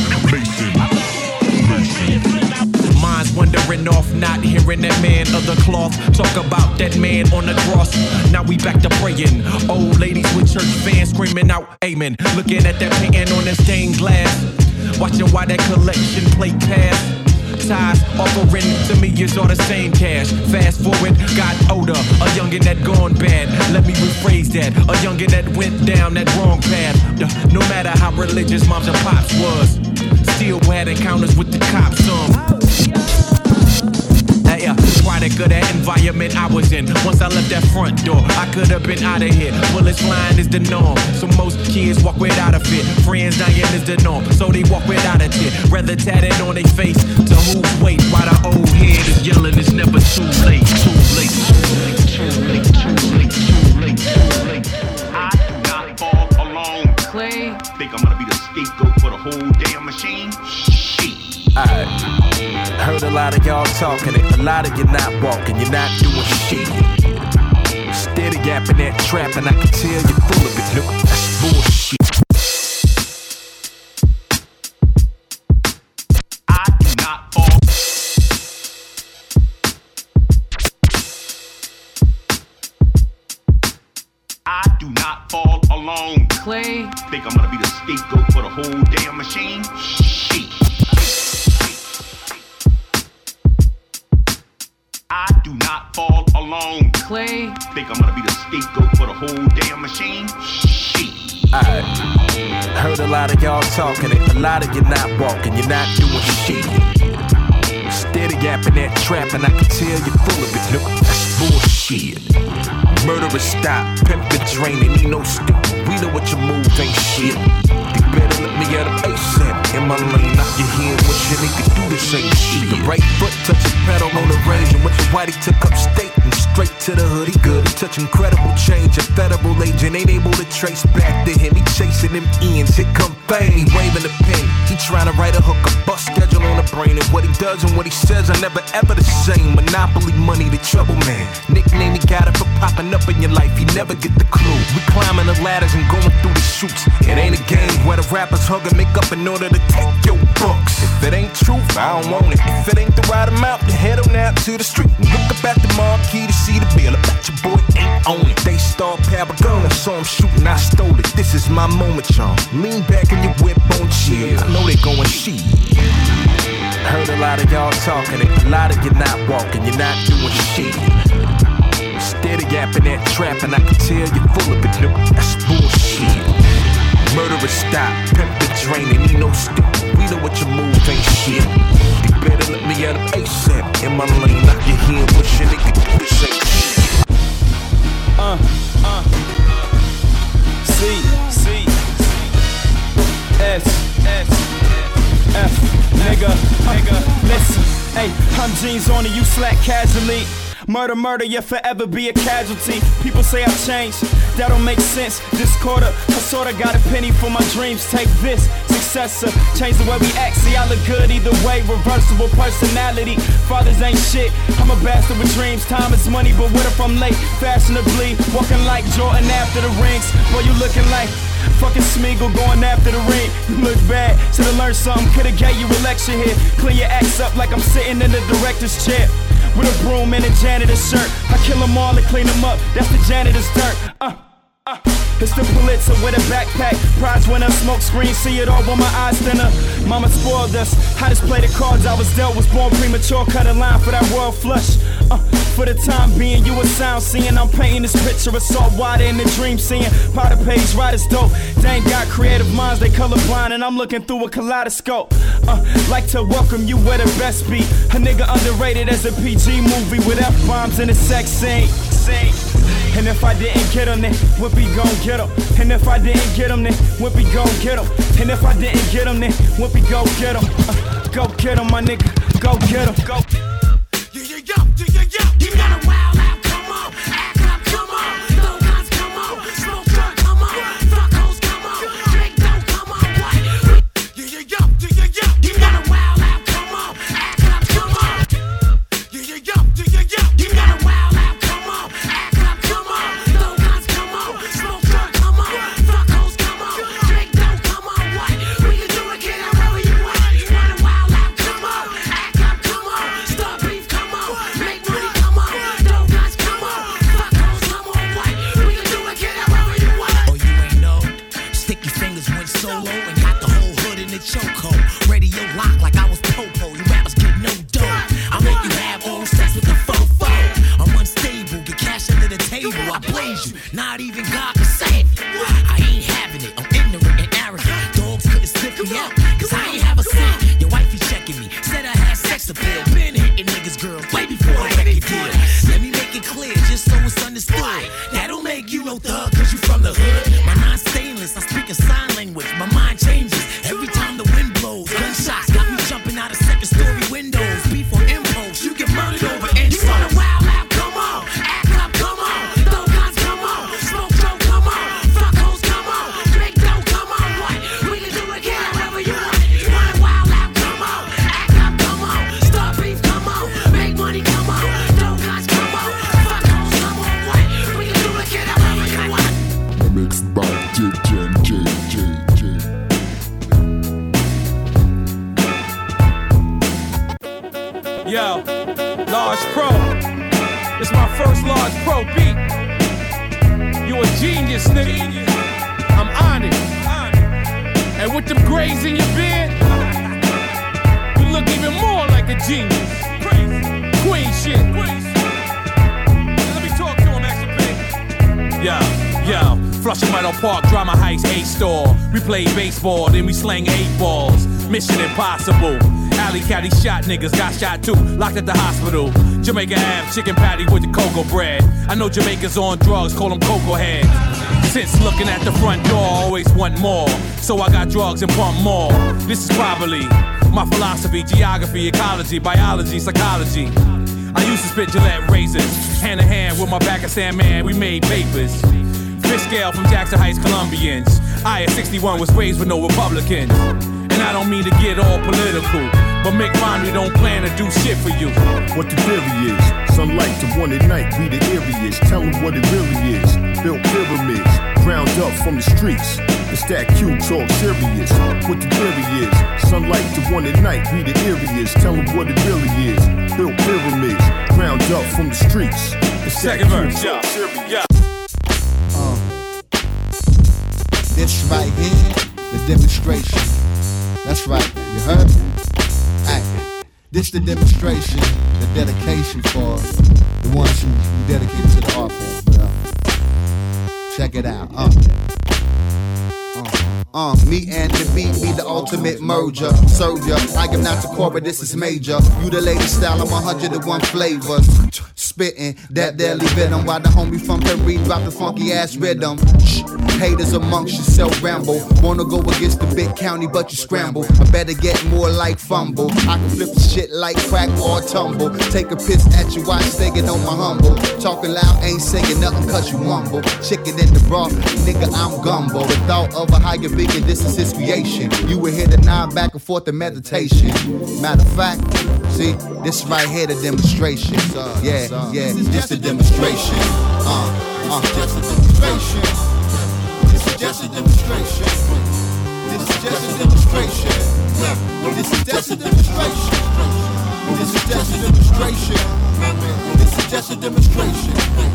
Speaker 19: Minds wandering off, not hearing that man of the cloth talk about that man on the cross. Now we back to praying. Old ladies with church fans screaming out amen. Looking at that painting on that stained glass, watching why that collection plate pass. Ties offering to me is all the same cash. Fast forward, got older, a youngin' that gone bad. Let me rephrase that, a youngin' that went down that wrong path. No matter how religious moms and pops was, still had encounters with the cops. Product of that environment I was in. Once I left that front door, I could have been out of here. Bullets flying is the norm, so most kids walk without a fit. Friends dying is the norm, so they walk without a tit. Rather tatted on their face to whose weight, while the old head is yelling it's never too late. Too late, too late, too late, too late, too late, too late.
Speaker 20: I do not fall alone.
Speaker 11: Clay.
Speaker 20: Think I'm gonna be the scapegoat for the whole damn machine? Shit.
Speaker 19: Heard a lot of y'all talking it, a lot of you not walking, you're not doing shit. Steady gapping that trap, and I can tell you're full of it. Look, that's bullshit.
Speaker 20: I do not fall. I do not fall alone.
Speaker 11: Clay.
Speaker 20: Think I'm gonna be the scapegoat for the whole damn machine? Shit. I do not fall alone.
Speaker 11: Clay.
Speaker 20: Think I'm gonna be the scapegoat for the whole damn machine? Shit.
Speaker 19: Heard a lot of y'all talking it, a lot of you not walking, you're not doing shit. Steady gap in that trap, and I can tell you're full of it. Look, that's bullshit. Murderous stop, pimp the drain, and ain't no stick. We know what your move ain't shit. You better let me get a ASAP. In my lane, knock your head, what your nigga do the same shit. The right foot touch the pedal on the range, and what your whitey took up state and straight to the hood. He good, he touch incredible change. A federal agent ain't able to trace back to him. He chasing them ends, here come fame. He waving the pen, he trying to write a hook, a bus schedule on the brain. And what he does and what he says are never ever the same. Monopoly money, the trouble man. Nickname he got it for popping up in your life, he never get the clue. We climbing the ladders and going through the shoots. It ain't a game where the rappers hug and make up in order to take your bucks. If it ain't truth, I don't want it. If it ain't the right amount, then head on out to the street and look up at the marquee to see the bill. I bet your boy ain't on it. They star Pabagona, saw him shooting, I stole it. This is my moment, y'all. Lean back in your whip on chill. I know they going shit. Heard a lot of y'all talking it, a lot of you not walking, you're not doing shit. Steady gapping that trap, and I can tell you're full of it. Look, that's bullshit. Murderous stop, pimp the drain, and ain't no stick. We know what your move ain't shit. You better let me get an ASAP. In my lane, knock your head, what your nigga do the same shit.
Speaker 9: C S F nigga. Listen, hey, I'm jeans on and you slack casually. Murder, you'll forever be a casualty. People say I've changed, that don't make sense. This quarter, I sorta got a penny for my dreams. Take this, successor, change the way we act. See, I look good either way, reversible personality. Fathers ain't shit, I'm a bastard with dreams. Time is money, but what if I'm late? Fashionably, walking like Jordan after the rings. Boy, you looking like fucking Smeagol going after the ring. You look bad, should've learned something. Could've gave you a lecture here. Clean your acts up like I'm sitting in the director's chair with a broom and a janitor's shirt. I kill them all and clean them up, that's the janitor's dirt. It's the Pulitzer with a backpack, prize winner, smoke screen, see it all when my eyes thinner. Mama spoiled us, I just play the cards I was dealt. Was born premature, cut a line for that world flush. For the time being, you a sound seeing. I'm painting this picture of salt water in the dream seeing. Powder page, writers dope. They ain't got creative minds, they colorblind, and I'm looking through a kaleidoscope. Like to welcome you where the best be. A nigga underrated as a PG movie with F-bombs in a sex scene. And if I didn't get him, then Whippy gon' get him. And if I didn't get him, then Whippy gon' get him. And if I didn't get him, then Whippy go get him. Go get him, my nigga. Go get him. Go.
Speaker 15: You gotta wild out, come on. Act up, come on. Throw guns, come on. Smoke drug, come on. Fuck hoes, come on. Drink dope, come on. What? You gotta wild out, come on. Act up, come on. You gotta wild out, come on. Act up, come on. Throw guns, come on. Smoke drug, come on. Fuck hoes, come on. Drink dope, come on. What? We can do it, get out wherever you want. You wanna wild out, come on. Act up, come on. Start beef, come on. Make money, come on. Throw guns, come on. Fuck hoes, come on. What? We can do it, get out wherever you want.
Speaker 21: Oh, you ain't know? Sticky Fingers went solo and got the whole hood in the chokehold. Radio lock like I was Popo. You rappers get no dough. I make you have oral sex with the fofo. I'm unstable, get cash under the table. I blaze you, not even God can save you. I ain't having it, I'm ignorant and arrogant. Dogs couldn't sniff me out, cause I ain't have a cent. Your wifey checking me, said I had sex appeal. Been hitting niggas, girl, way before I record deal. Let me make it clear, just so it's understood. That don't make you no thug, cause you from the hood. My non-stainless, I speak a sign language. My mind changes every time the wind blows. Gunshots got me jumping out of second-story windows. Beef on impulse, you get murdered over insults.
Speaker 15: You wanna wild out, come on. Act up, come on. Throw guns, come on. Smoke dope, come on. Fuck hoes, come on. Drink dope, come on. What? We can do it, get out wherever you want. You wanna wild out, come on. Act up, come on. Start beef, come on. Make money, come on. Throw guns, come on. Fuck hoes, come on. What? We can do it, get out wherever you want.
Speaker 5: Mixed by DJ.
Speaker 9: Yo, Large Pro. It's my first Large Pro beat. You a genius, nigga. I'm honored. And with them grays in your beard, you look even more like a genius. Queen shit. Let me talk to him, Action Yo, Flushing Meadow Park, Drama Heights, A-Store. We play baseball, then we slang 8 balls. Mission Impossible.
Speaker 3: Alley caddy shot niggas, got shot too, locked at the hospital. Jamaica Ave, chicken patty with the cocoa bread. I know Jamaicans on drugs, call them cocoa heads. Since looking at the front door, always want more. So I got drugs and pump more. This is probably my philosophy, geography, ecology, biology, psychology. I used to spit Gillette razors, hand in hand with my Pakistan man, we made papers. Fish scale from Jackson Heights, Colombians. I at 61 was raised with no Republicans. And I don't mean to get all political, but Mick Romney don't plan to do shit for you.
Speaker 22: What the theory is, sunlight to one at night, we the areas. Tell them what it really is. Built pyramids, ground up from the streets. It's that Q talk serious. What the theory is, sunlight to one at night, we the areas. Tell them what it really is. Built pyramids, ground up from the streets. It's
Speaker 3: second verse, yeah, yeah.
Speaker 23: This right here, the demonstration. That's right, you heard me? Hey, this the demonstration, the dedication for the ones who dedicated to the art form. Check it out. Me and the beat be the ultimate merger. Serve ya, I am not the core, but this is major. You the latest style, I'm 101 flavors. Spitting that deadly venom while the homie from Perry drop the funky ass rhythm. Shh. Haters amongst yourself ramble. Wanna go against the big county, but you scramble. I better get more like fumble. I can flip the shit like crack or tumble. Take a piss at you while staying on my humble. Talking loud, ain't saying nothing cause you mumble. Chicken in the broth, nigga, I'm gumbo. The thought of a higher bigger, this is his creation. You were here to nod back and forth in meditation. Matter of fact, see, this right here the demonstration. Yeah, this the demonstration. Just a demonstration. This is just a demonstration. This is just a demonstration. This is just a demonstration. This is just a demonstration. This is just a demonstration.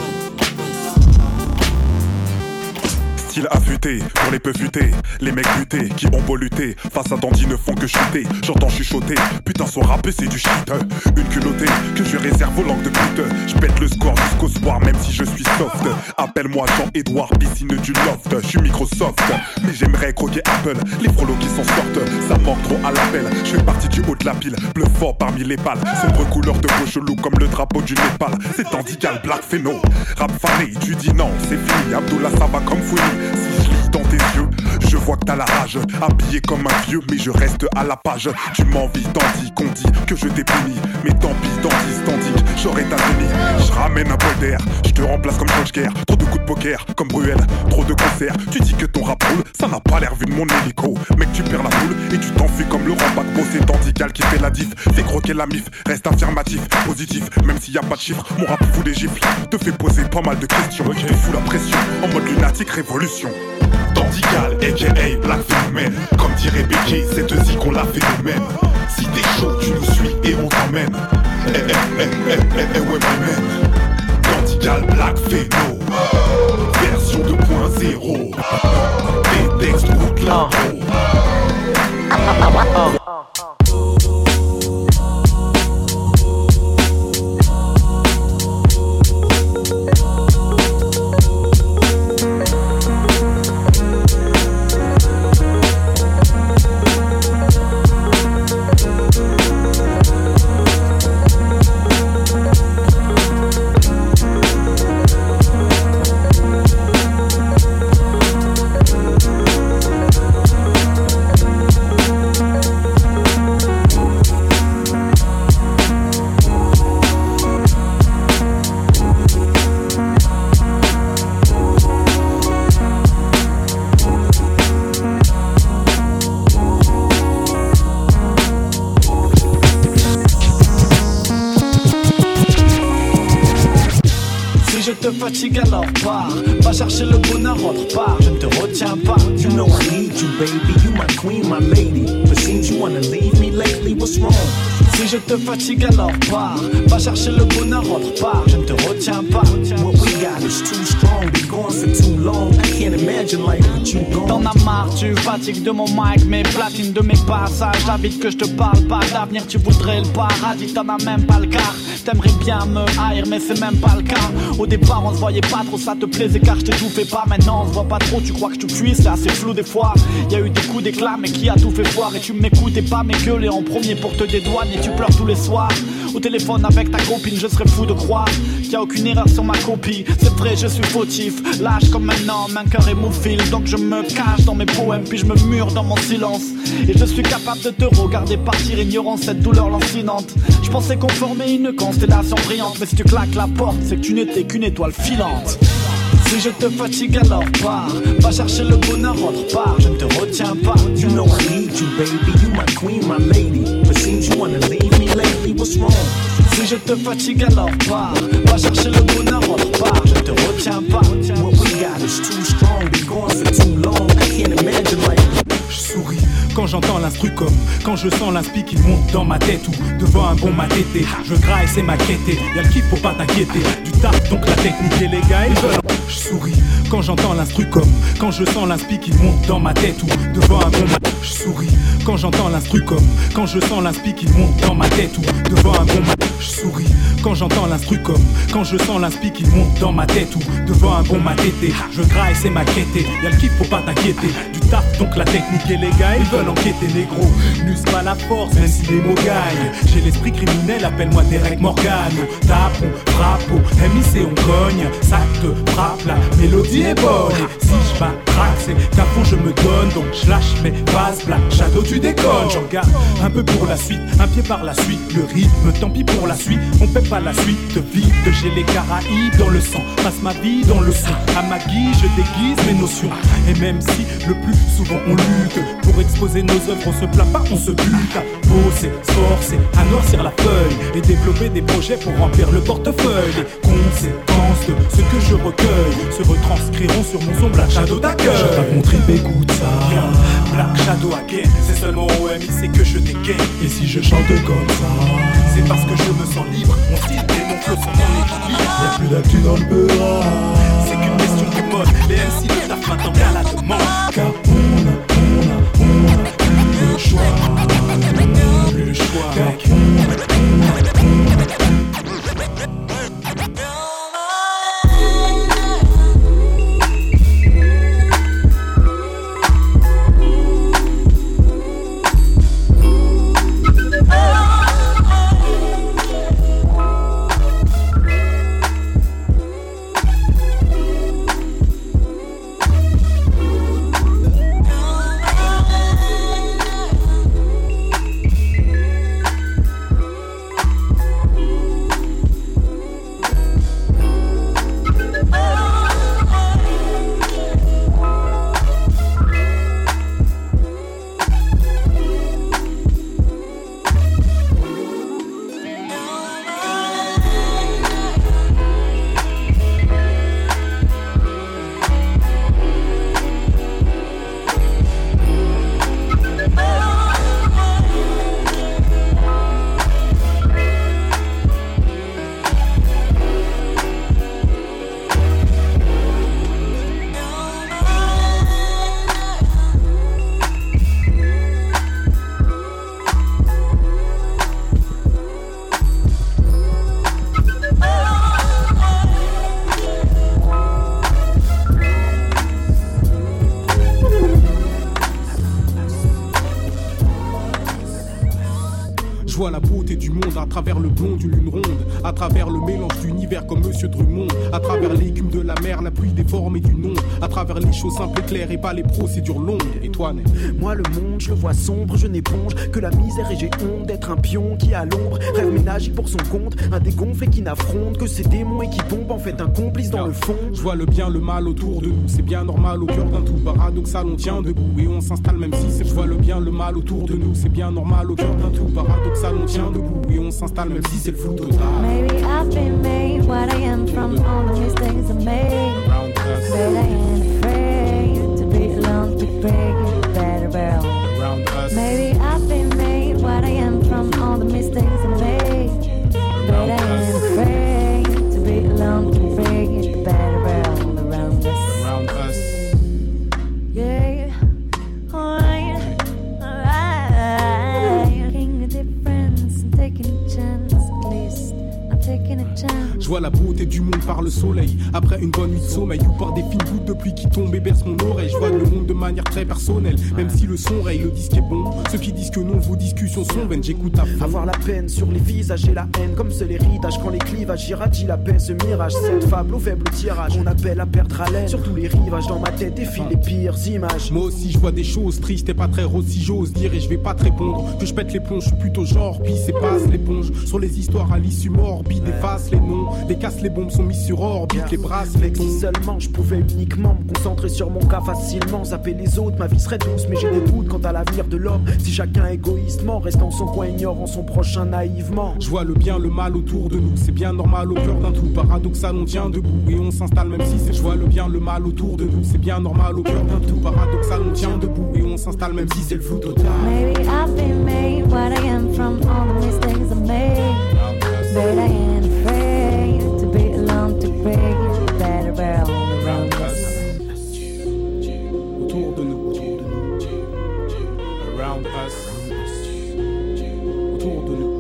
Speaker 24: Style affûté, pour les peu futés, les mecs butés qui ont beau lutter, face à Dandy ne font que chuter. J'entends chuchoter, putain son rap c'est du shit. Une culottée que je réserve aux langues de pute. J'pète le score jusqu'au soir même si je suis soft. Appelle-moi Jean-Edouard, piscine du loft. J'suis Microsoft, mais j'aimerais croquer Apple. Les frolos qui s'en sortent, ça manque trop à l'appel. J'fais partie du haut de la pile, bleu fort parmi les pales. Sombre couleur de peau chelou comme le drapeau du Népal. C'est Dandigal, Black Phéno, rap fané. Tu dis non, c'est fini, Abdullah ça va comme Founi. Si je lis dans tes yeux, je vois que t'as la rage. Habillé comme un vieux, mais je reste à la page. Tu m'envies, tandis qu'on dit que je t'ai puni. Mais tant pis, tandis, j'aurais ta tenue. Je ramène un bol d'air, je te remplace comme Coach Guerre. Trop de coups de poker, comme Bruel, trop de concerts. Tu dis que ton rap roule, ça n'a pas l'air vu de mon hélico. Mec, tu perds la boule et tu t'enfuis comme le Rambago. C'est Dandigal qui fait la diff, fais croquer la mif. Reste affirmatif, positif, même s'il y a pas de chiffres. Mon rap fout des gifles, te fait poser pas mal de questions. Te fous la pression, en mode lunatique révolution. Dandigal, a.k.a. Black Phénomène. Comme dirait Becky, cette zik on l'a fait nous-mêmes. Si t'es chaud, tu nous suis et on t'emmène. Ouais, my man. Dandigal, Black Phéno. Version 2.0. Des textes route l'intro.
Speaker 21: Fatigue alors pars, va chercher le bonheur, rentre pas, je ne te retiens pas. You know I need you baby, you my queen, my lady. But seems you wanna leave me lately, what's wrong? Si je te fatigue alors pars, va chercher le bonheur, rentre pas, je ne te retiens pas. What we got is too strong, been gone for too long. I can't imagine life with you gone.
Speaker 1: T'en as marre, tu fatigues de mon mic, mes platines de mes passages. J'habite que je te parle pas d'avenir, tu voudrais le paradis, t'en as même pas le quart. T'aimerais bien me haïr, mais c'est même pas le cas. Au départ, on se voyait pas trop, ça te plaisait car je t'étouffais pas. Maintenant, on se voit pas trop, tu crois que tu cuis, c'est assez flou des fois. Y'a eu des coups d'éclat, mais qui a tout fait foire? Et tu m'écoutes et pas mes gueules en premier pour te dédouaner. Tu pleures tous les soirs. Au téléphone avec ta copine, je serais fou de croire qu'il y a aucune erreur sur ma copie. C'est vrai, je suis fautif, lâche comme un homme, un cœur hémophile. Donc je me cache dans mes poèmes, puis je me mure dans mon silence. Et je suis capable de te regarder partir, ignorant cette douleur lancinante. Je pensais qu'on formait une constellation brillante, mais si tu claques la porte, c'est que tu n'étais qu'une étoile filante. Si je te fatigue alors pars, va chercher le bonheur autre part, je ne te retiens pas.
Speaker 21: You know I need you, baby, you my queen, my lady. But seems you wanna leave me lately, what's wrong?
Speaker 1: Si je te fatigue alors pars, va chercher le bonheur autre part, je ne te retiens pas.
Speaker 21: What we got is too strong, been gone for too long. I can't imagine life.
Speaker 24: Je souris quand j'entends l'instru comme quand je sens l'inspi qui monte dans ma tête ou devant un bon matété. Je graille, c'est ma quête, y'a le kiff, faut pas t'inquiéter. Du taf, donc la technique et les gars, ils veulent. Je souris quand j'entends l'instru comme quand je sens l'inspi qui monte dans ma tête ou devant un bon matété. Je souris quand j'entends l'instru comme quand je sens l'inspi qui monte dans ma tête ou devant un bon matété. Je souris quand j'entends l'instru comme quand je sens l'inspi qui monte dans ma tête ou devant un bon matété. Je graille, c'est ma quête, y'a le kiff, faut pas t'inquiéter. Du taf, donc la technique et les gars, ils veulent enquêter négro. N'use pas la force, même si les mots gagnent. J'ai l'esprit criminel, appelle-moi Derek Morgan. Tapons, frappons, MIC on cogne. Ça te frappe, la mélodie est bonne. Et si je m'attraque, c'est qu'à fond je me donne. Donc je lâche mes bases, Black Shadow tu déconnes. J'en garde un peu pour la suite, un pied par la suite. Le rythme, tant pis pour la suite, on paie pas la suite. Vite, j'ai les Caraïbes dans le sang. Passe ma vie dans le son. À ma guise, je déguise mes notions. Et même si le plus souvent on lutte pour exposer nos œuvres, on se plaint pas, on se bute à bosser, se forcer, à noircir la feuille et développer des projets pour remplir le portefeuille. Les conséquences de ce que je recueille se retranscriront sur mon son Black Shadow d'accueil. Je tape mon trip, écoute ça. Bien, Black Shadow again, c'est seulement au MIC que je dégaine. Et si je chante comme ça, c'est parce que je me sens libre. Mon style et mon flow sont en équilibre. Y'a plus d'actu dans le beurre. C'est qu'une question de mode. Les MC le tapent maintenant qu'à la demande. Car on a plus le choix. Plus le choix.
Speaker 2: vois la beauté du monde à travers le blond d'une lune ronde, à travers le mélange d'univers comme Monsieur Drummond, à travers l'écume de la mer, la pluie des formes et du nom, à travers les choses simples et claires et pas les procédures longues. Et toi, Né?
Speaker 4: Moi le monde, je le vois sombre, je n'éponge que la misère et j'ai honte d'être un pion qui à l'ombre rêve ménagique pour son compte, un dégonflé qui n'affronte que ses démons et qui tombe en fait un complice dans le fond.
Speaker 2: Je vois le bien, le mal autour de nous, c'est bien normal au cœur d'un tout paradoxal, on tient debout et on s'installe même si c'est. Je vois le bien, le mal autour de nous, c'est bien normal au cœur d'un tout paradoxal, on tient debout et on s'installe même si c'est le flou total.
Speaker 6: Maybe I've been made what I am from all the mistakes I made, but I ain't afraid to be alone to break it better well. Maybe I've been made what I am from all the mistakes I made, but I ain't afraid to be alone to break it better well around
Speaker 2: Je vois la beauté du monde par le soleil. Après une bonne nuit de sommeil ou par des fines gouttes de pluie qui tombent et bercent mon oreille. Je vois le monde de manière très personnelle. Même si le son raye, le disque est bon. Ceux qui disent que non, vos discussions sont vaines. J'écoute à fond.
Speaker 4: Avoir la peine sur les visages et la haine, comme c'est l'héritage quand les clivages irradient la paix, ce mirage, cette fable au faible tirage. On appelle à perdre haleine sur tous les rivages. Dans ma tête défilent les pires images.
Speaker 2: Moi aussi je vois des choses tristes et pas très roses si j'ose dire. Et je vais pas te répondre que je pète les plombs. Je suis plutôt genre pisse et passe l'éponge sur les histoires à l'issue morbide. Efface les noms, les casses, les bombes sont mises sur orbite. Les brasses, les tons.
Speaker 4: Si seulement je pouvais uniquement me concentrer sur mon cas facilement, zapper les autres, ma vie serait douce. Mais j'ai des doutes quant à l'avenir de l'homme. Si chacun égoïstement reste en son coin, ignorant son prochain naïvement.
Speaker 2: Je vois le bien, le mal autour de nous. C'est bien normal au cœur d'un tout. Paradoxal, on tient debout et on s'installe même si c'est. Je vois le bien, le mal autour de nous. C'est bien normal au cœur d'un tout. Paradoxal, on tient debout et on s'installe même si c'est le flou total.
Speaker 6: Maybe I've been made what I am from all the mistakes I made. But I ain't afraid to be alone to break it better around us.
Speaker 2: Autour de nous, around us. Autour de nous,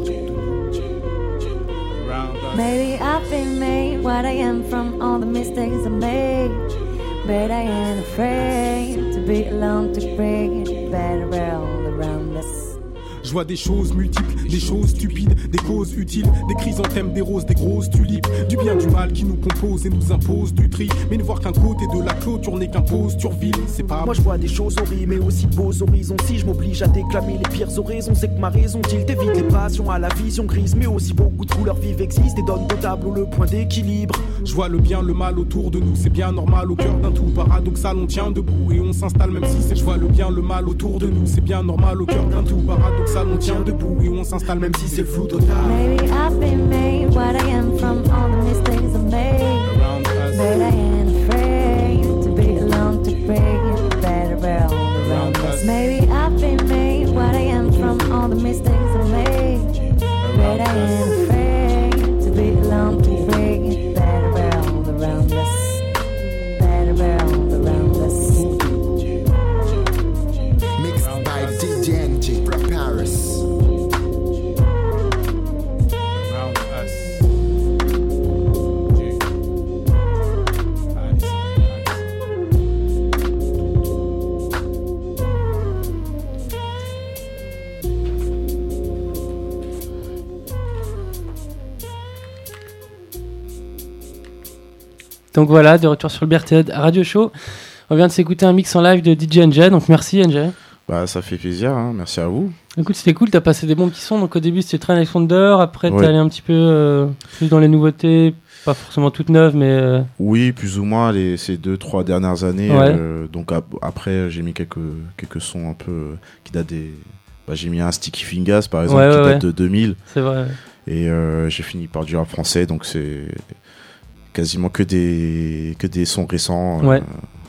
Speaker 2: around us.
Speaker 6: Maybe I've been made what I am from all the mistakes I made. But I ain't afraid to be alone to break it better around us.
Speaker 2: Je vois des choses multiples, des choses stupides, des causes utiles, des chrysanthèmes, des roses, des grosses tulipes, du bien, du mal qui nous compose et nous impose du tri. Mais ne voir qu'un côté de la clôture n'est qu'imposture vile, c'est pas.
Speaker 4: Moi je vois des choses horribles mais aussi beaux horizons. Si je m'oblige à déclamer les pires oraisons, c'est que ma raison tilt évite les passions à la vision grise. Mais aussi beaucoup de couleurs vives existent et donnent au tableau le point d'équilibre.
Speaker 2: Je vois le bien, le mal autour de nous, c'est bien normal au cœur d'un tout. Paradoxal, on tient debout et on s'installe même si c'est. Je vois le bien, le mal autour de nous, c'est bien normal au cœur d'un tout. Paradoxal, on tient debout et on s'installe même si c'est le flou total.
Speaker 6: Maybe I've been made what I am from all the mistakes I made. But I ain't afraid to be alone to break it better around us. Maybe I've been made what I am from all the mistakes I made. But I ain't afraid to be alone to break it better around us. Better around us.
Speaker 10: Mixed by DJ NG from Paris.
Speaker 7: Donc voilà, de retour sur le BRTZ Radio Show. On vient de s'écouter un mix en live de DJ NJ, donc merci NJ.
Speaker 12: Bah ça fait plaisir, hein. Merci à vous.
Speaker 7: Écoute, c'était cool, t'as passé des bons petits sons. Donc au début c'était Train Alexander, après
Speaker 12: Ouais.
Speaker 7: t'es allé un petit peu plus dans les nouveautés, pas forcément toutes neuves, mais...
Speaker 12: Oui, plus ou moins ces 2-3 dernières années.
Speaker 7: Ouais.
Speaker 12: Donc après j'ai mis quelques sons un peu qui datent des... Bah, j'ai mis un Sticky Fingers par exemple qui date de 2000.
Speaker 7: C'est vrai.
Speaker 12: Et j'ai fini par du rap français, donc c'est quasiment que des sons récents.
Speaker 7: Ouais.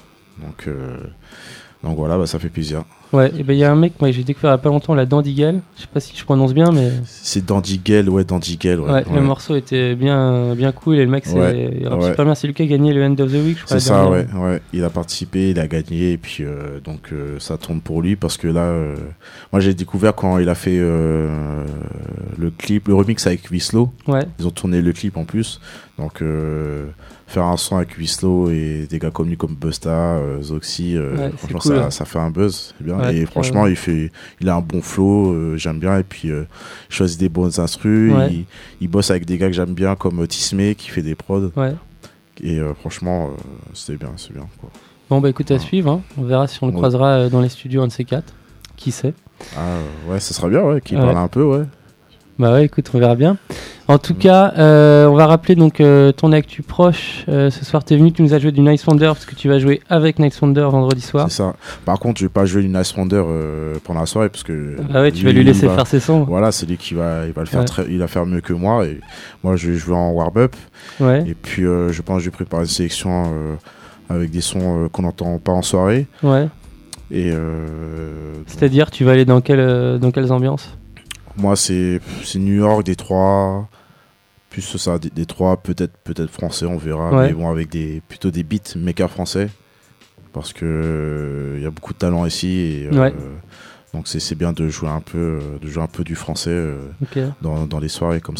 Speaker 12: Donc voilà, bah, ça fait plaisir.
Speaker 7: Ouais, et ben il y a un mec, moi j'ai découvert il y a pas longtemps, la Dandigel. Je sais pas si je prononce bien, mais.
Speaker 12: C'est Dandigel, ouais, Dandigel.
Speaker 7: Ouais, le morceau était bien cool et le mec il rappe super bien. C'est lui qui a gagné le End of the Week, je crois.
Speaker 12: C'est ça, ouais. Il a participé, il a gagné, et puis donc ça tombe pour lui parce que là, moi j'ai découvert quand il a fait le remix avec Winslow.
Speaker 7: Ouais.
Speaker 12: Ils ont tourné le clip en plus, donc. Faire un son avec Winslow et des gars comme lui comme Busta, Zoxy, franchement cool, ça fait un buzz, c'est bien. Ouais, et franchement il a un bon flow, j'aime bien, et puis il choisit des bonnes instrus, il bosse avec des gars que j'aime bien comme Tismé qui fait des prods, et franchement c'est bien quoi.
Speaker 7: Bon bah écoute, à suivre, hein. On verra si on le croisera dans les studios un de ces quatre, qui sait.
Speaker 12: Ouais, ça sera bien, qu'il parle un peu, ouais.
Speaker 7: Bah ouais, écoute, on verra bien. En tout cas, on va rappeler donc ton actu proche. Ce soir, t'es venu, tu nous as joué du Nice Wonder parce que tu vas jouer avec Nice Wonder vendredi soir.
Speaker 12: C'est ça. Par contre, je vais pas jouer du Nice Wonder pendant la soirée parce que.
Speaker 7: Ah ouais, tu vas lui laisser faire ses sons.
Speaker 12: Voilà, c'est lui qui va le faire il va faire mieux que moi, et moi je vais jouer en warm-up.
Speaker 7: Ouais.
Speaker 12: Et puis je pense que je vais préparer une sélection avec des sons qu'on n'entend pas en soirée.
Speaker 7: Ouais.
Speaker 12: Et
Speaker 7: c'est-à-dire, tu vas aller dans quelles ambiances?
Speaker 12: Moi, c'est New York, Détroit, plus ça, Détroit, peut-être français, on verra, mais bon, avec plutôt des beats makers français, parce que y a beaucoup de talent ici, et donc c'est bien de jouer un peu du français dans les soirées comme ça.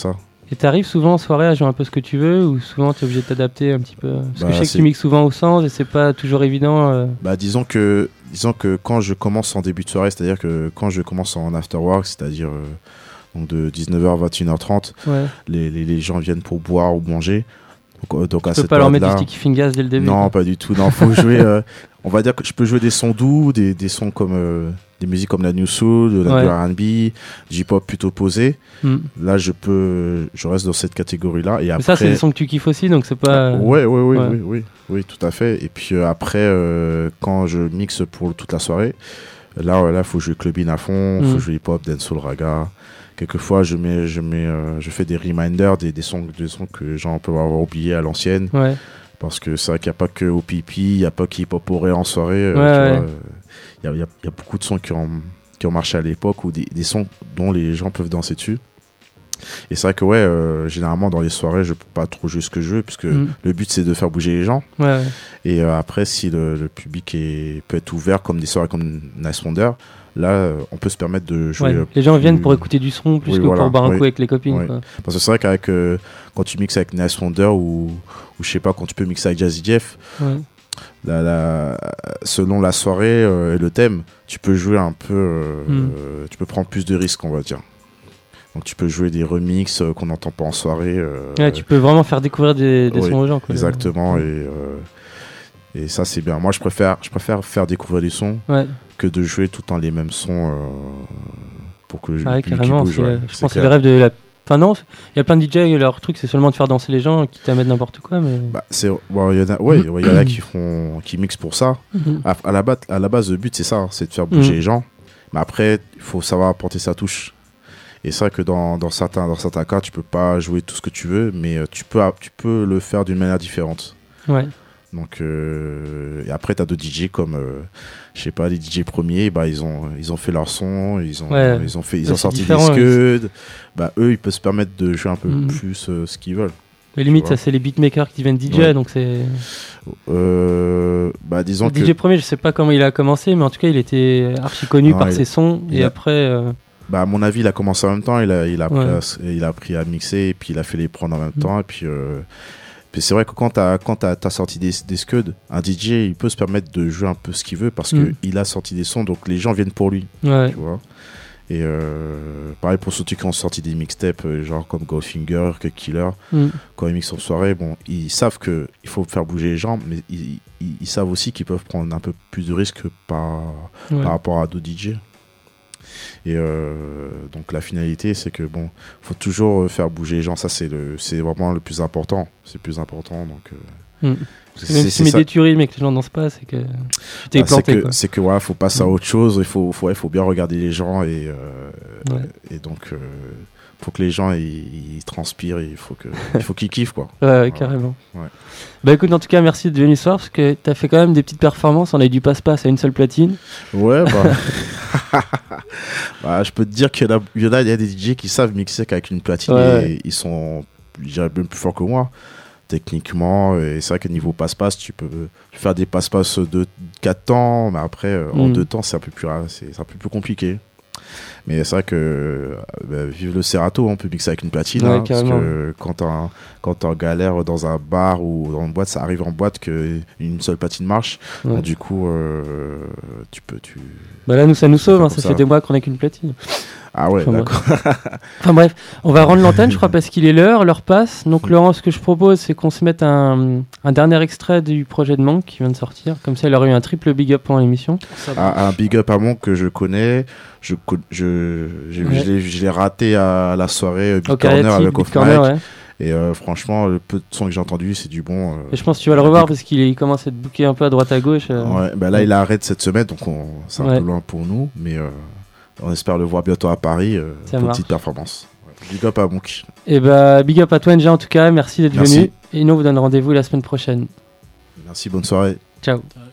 Speaker 7: Et t'arrives souvent en soirée à jouer un peu ce que tu veux ou souvent t'es obligé de t'adapter un petit peu? Parce que je sais que tu mixes souvent au sens et c'est pas toujours évident.
Speaker 12: Disons que quand je commence en début de soirée, c'est-à-dire que quand je commence en afterwork, c'est-à-dire donc de 19h à 21h30, les gens viennent pour boire ou manger. Donc
Speaker 7: tu peux pas leur mettre du Sticky Fingers dès le début?
Speaker 12: Non, pas du tout. Non, faut jouer. On va dire que je peux jouer des sons doux, des sons comme des musiques comme la New Soul, du R&B, du hip-hop plutôt posé. Là, je reste dans cette catégorie-là. Et après,
Speaker 7: ça, c'est des sons que tu kiffes aussi, donc c'est pas.
Speaker 12: Oui, tout à fait. Et puis après, quand je mixe pour toute la soirée, là, faut jouer clubbing à fond, faut jouer hip-hop, dancehall, raga. Quelquefois, je fais des reminders, des sons que les gens peuvent avoir oubliés à l'ancienne. Ouais. Parce que c'est vrai qu'il n'y a pas que au pipi, il n'y a pas qu'hip-hop en soirée. Il y a beaucoup de sons qui ont marché à l'époque ou des sons dont les gens peuvent danser dessus. Et c'est vrai que généralement dans les soirées, je peux pas trop jouer ce que je veux, puisque le but c'est de faire bouger les gens. Ouais. Et après, si le public peut être ouvert, comme des soirées comme Nice Wonder, là, on peut se permettre de jouer.
Speaker 7: Les gens viennent pour écouter du son plus que pour boire un coup avec les copines. Quoi.
Speaker 12: Parce que c'est vrai qu'avec quand tu mixes avec Nice Wonder ou je sais pas, quand tu peux mixer avec Jazzy Jeff, selon la soirée et le thème, tu peux jouer un peu, tu peux prendre plus de risques, on va dire. Donc tu peux jouer des remixes qu'on n'entend pas en soirée.
Speaker 7: Tu peux vraiment faire découvrir des sons aux gens. Quoi.
Speaker 12: Exactement. Et ça c'est bien. Moi je préfère faire découvrir des sons que de jouer tout le temps les mêmes sons pour que le public bouge.
Speaker 7: Je pense que c'est le rêve de la... Enfin non, il y a plein de DJ, leur truc c'est seulement de faire danser les gens, quitte à mettre n'importe quoi. Mais...
Speaker 12: il y en a qui mixent pour ça. À la base, le but c'est ça, c'est de faire bouger les gens. Mais après, il faut savoir apporter sa touche. Et c'est vrai que dans certains cas, tu peux pas jouer tout ce que tu veux, mais tu peux le faire d'une manière différente. Ouais. Donc et après t'as d'autres DJ comme je sais pas, les DJ premiers, ils ont fait leur son, ils ont sorti des scuds. Eux ils peuvent se permettre de jouer un peu plus ce qu'ils veulent.
Speaker 7: Mais limite ça c'est les beatmakers qui deviennent DJ, donc c'est
Speaker 12: disons
Speaker 7: le DJ premier, je sais pas comment il a commencé, mais en tout cas il était archi connu par ses sons et après
Speaker 12: à mon avis, il a commencé en même temps, il a appris à mixer et puis il a fait les prendre en même temps et puis c'est vrai que quand t'as sorti des scuds, un DJ il peut se permettre de jouer un peu ce qu'il veut parce que il a sorti des sons, donc les gens viennent pour lui. Tu vois. Et pareil pour ceux qui ont sorti des mixtapes genre comme Goldfinger, Cut Killer, quand ils mixent en soirée, ils savent que il faut faire bouger les gens, mais ils savent aussi qu'ils peuvent prendre un peu plus de risques par rapport à d'autres DJ. Et donc la finalité c'est que faut toujours faire bouger les gens, ça c'est vraiment le plus important, donc
Speaker 7: même si tu mets des tueries mais que les gens dansent pas, c'est que tu t'es planté.
Speaker 12: C'est que faut passer à autre chose, il faut bien regarder les gens et donc faut que les gens ils transpirent, il faut qu'ils kiffent quoi.
Speaker 7: Carrément. Écoute, en tout cas merci de venir ce soir parce que t'as fait quand même des petites performances, on a eu du passe-passe à une seule platine.
Speaker 12: Je peux te dire qu'il y a des DJ qui savent mixer avec une platine et ils sont, je dirais, même plus forts que moi techniquement, et c'est vrai que niveau passe-passe tu peux faire des passe-passe de 4 temps, mais après en 2 temps c'est un peu plus compliqué. Mais c'est vrai que vive le Serato, on peut mixer avec une platine, parce que quand t'es en galère dans un bar ou dans une boîte, ça arrive en boîte qu'une seule platine marche. Donc, du coup, tu peux...
Speaker 7: là, nous, ça nous sauve, ça fait des mois qu'on n'a qu'une platine.
Speaker 12: Ah ouais, d'accord.
Speaker 7: Enfin bref, on va rendre l'antenne, je crois, parce qu'il est l'heure passe. Donc Laurent, ce que je propose, c'est qu'on se mette un dernier extrait du projet de Monk qui vient de sortir. Comme ça, il aurait eu un triple big up pendant l'émission.
Speaker 12: Un big up à Monk que je connais. Je l'ai raté à la soirée Big Corner avec Off Mic. Et franchement, le peu de sons que j'ai entendu, c'est du bon.
Speaker 7: Et je pense que tu vas le revoir parce qu'il commence à être booké un peu à droite à gauche.
Speaker 12: Là, il arrête cette semaine, donc c'est un peu loin pour nous. Mais on espère le voir bientôt à Paris pour une petite performance. Big up à Monk.
Speaker 7: Et big up à toi, NG, en tout cas. Merci d'être venu. Et nous, on vous donne rendez-vous la semaine prochaine.
Speaker 12: Merci, bonne soirée.
Speaker 7: Ciao.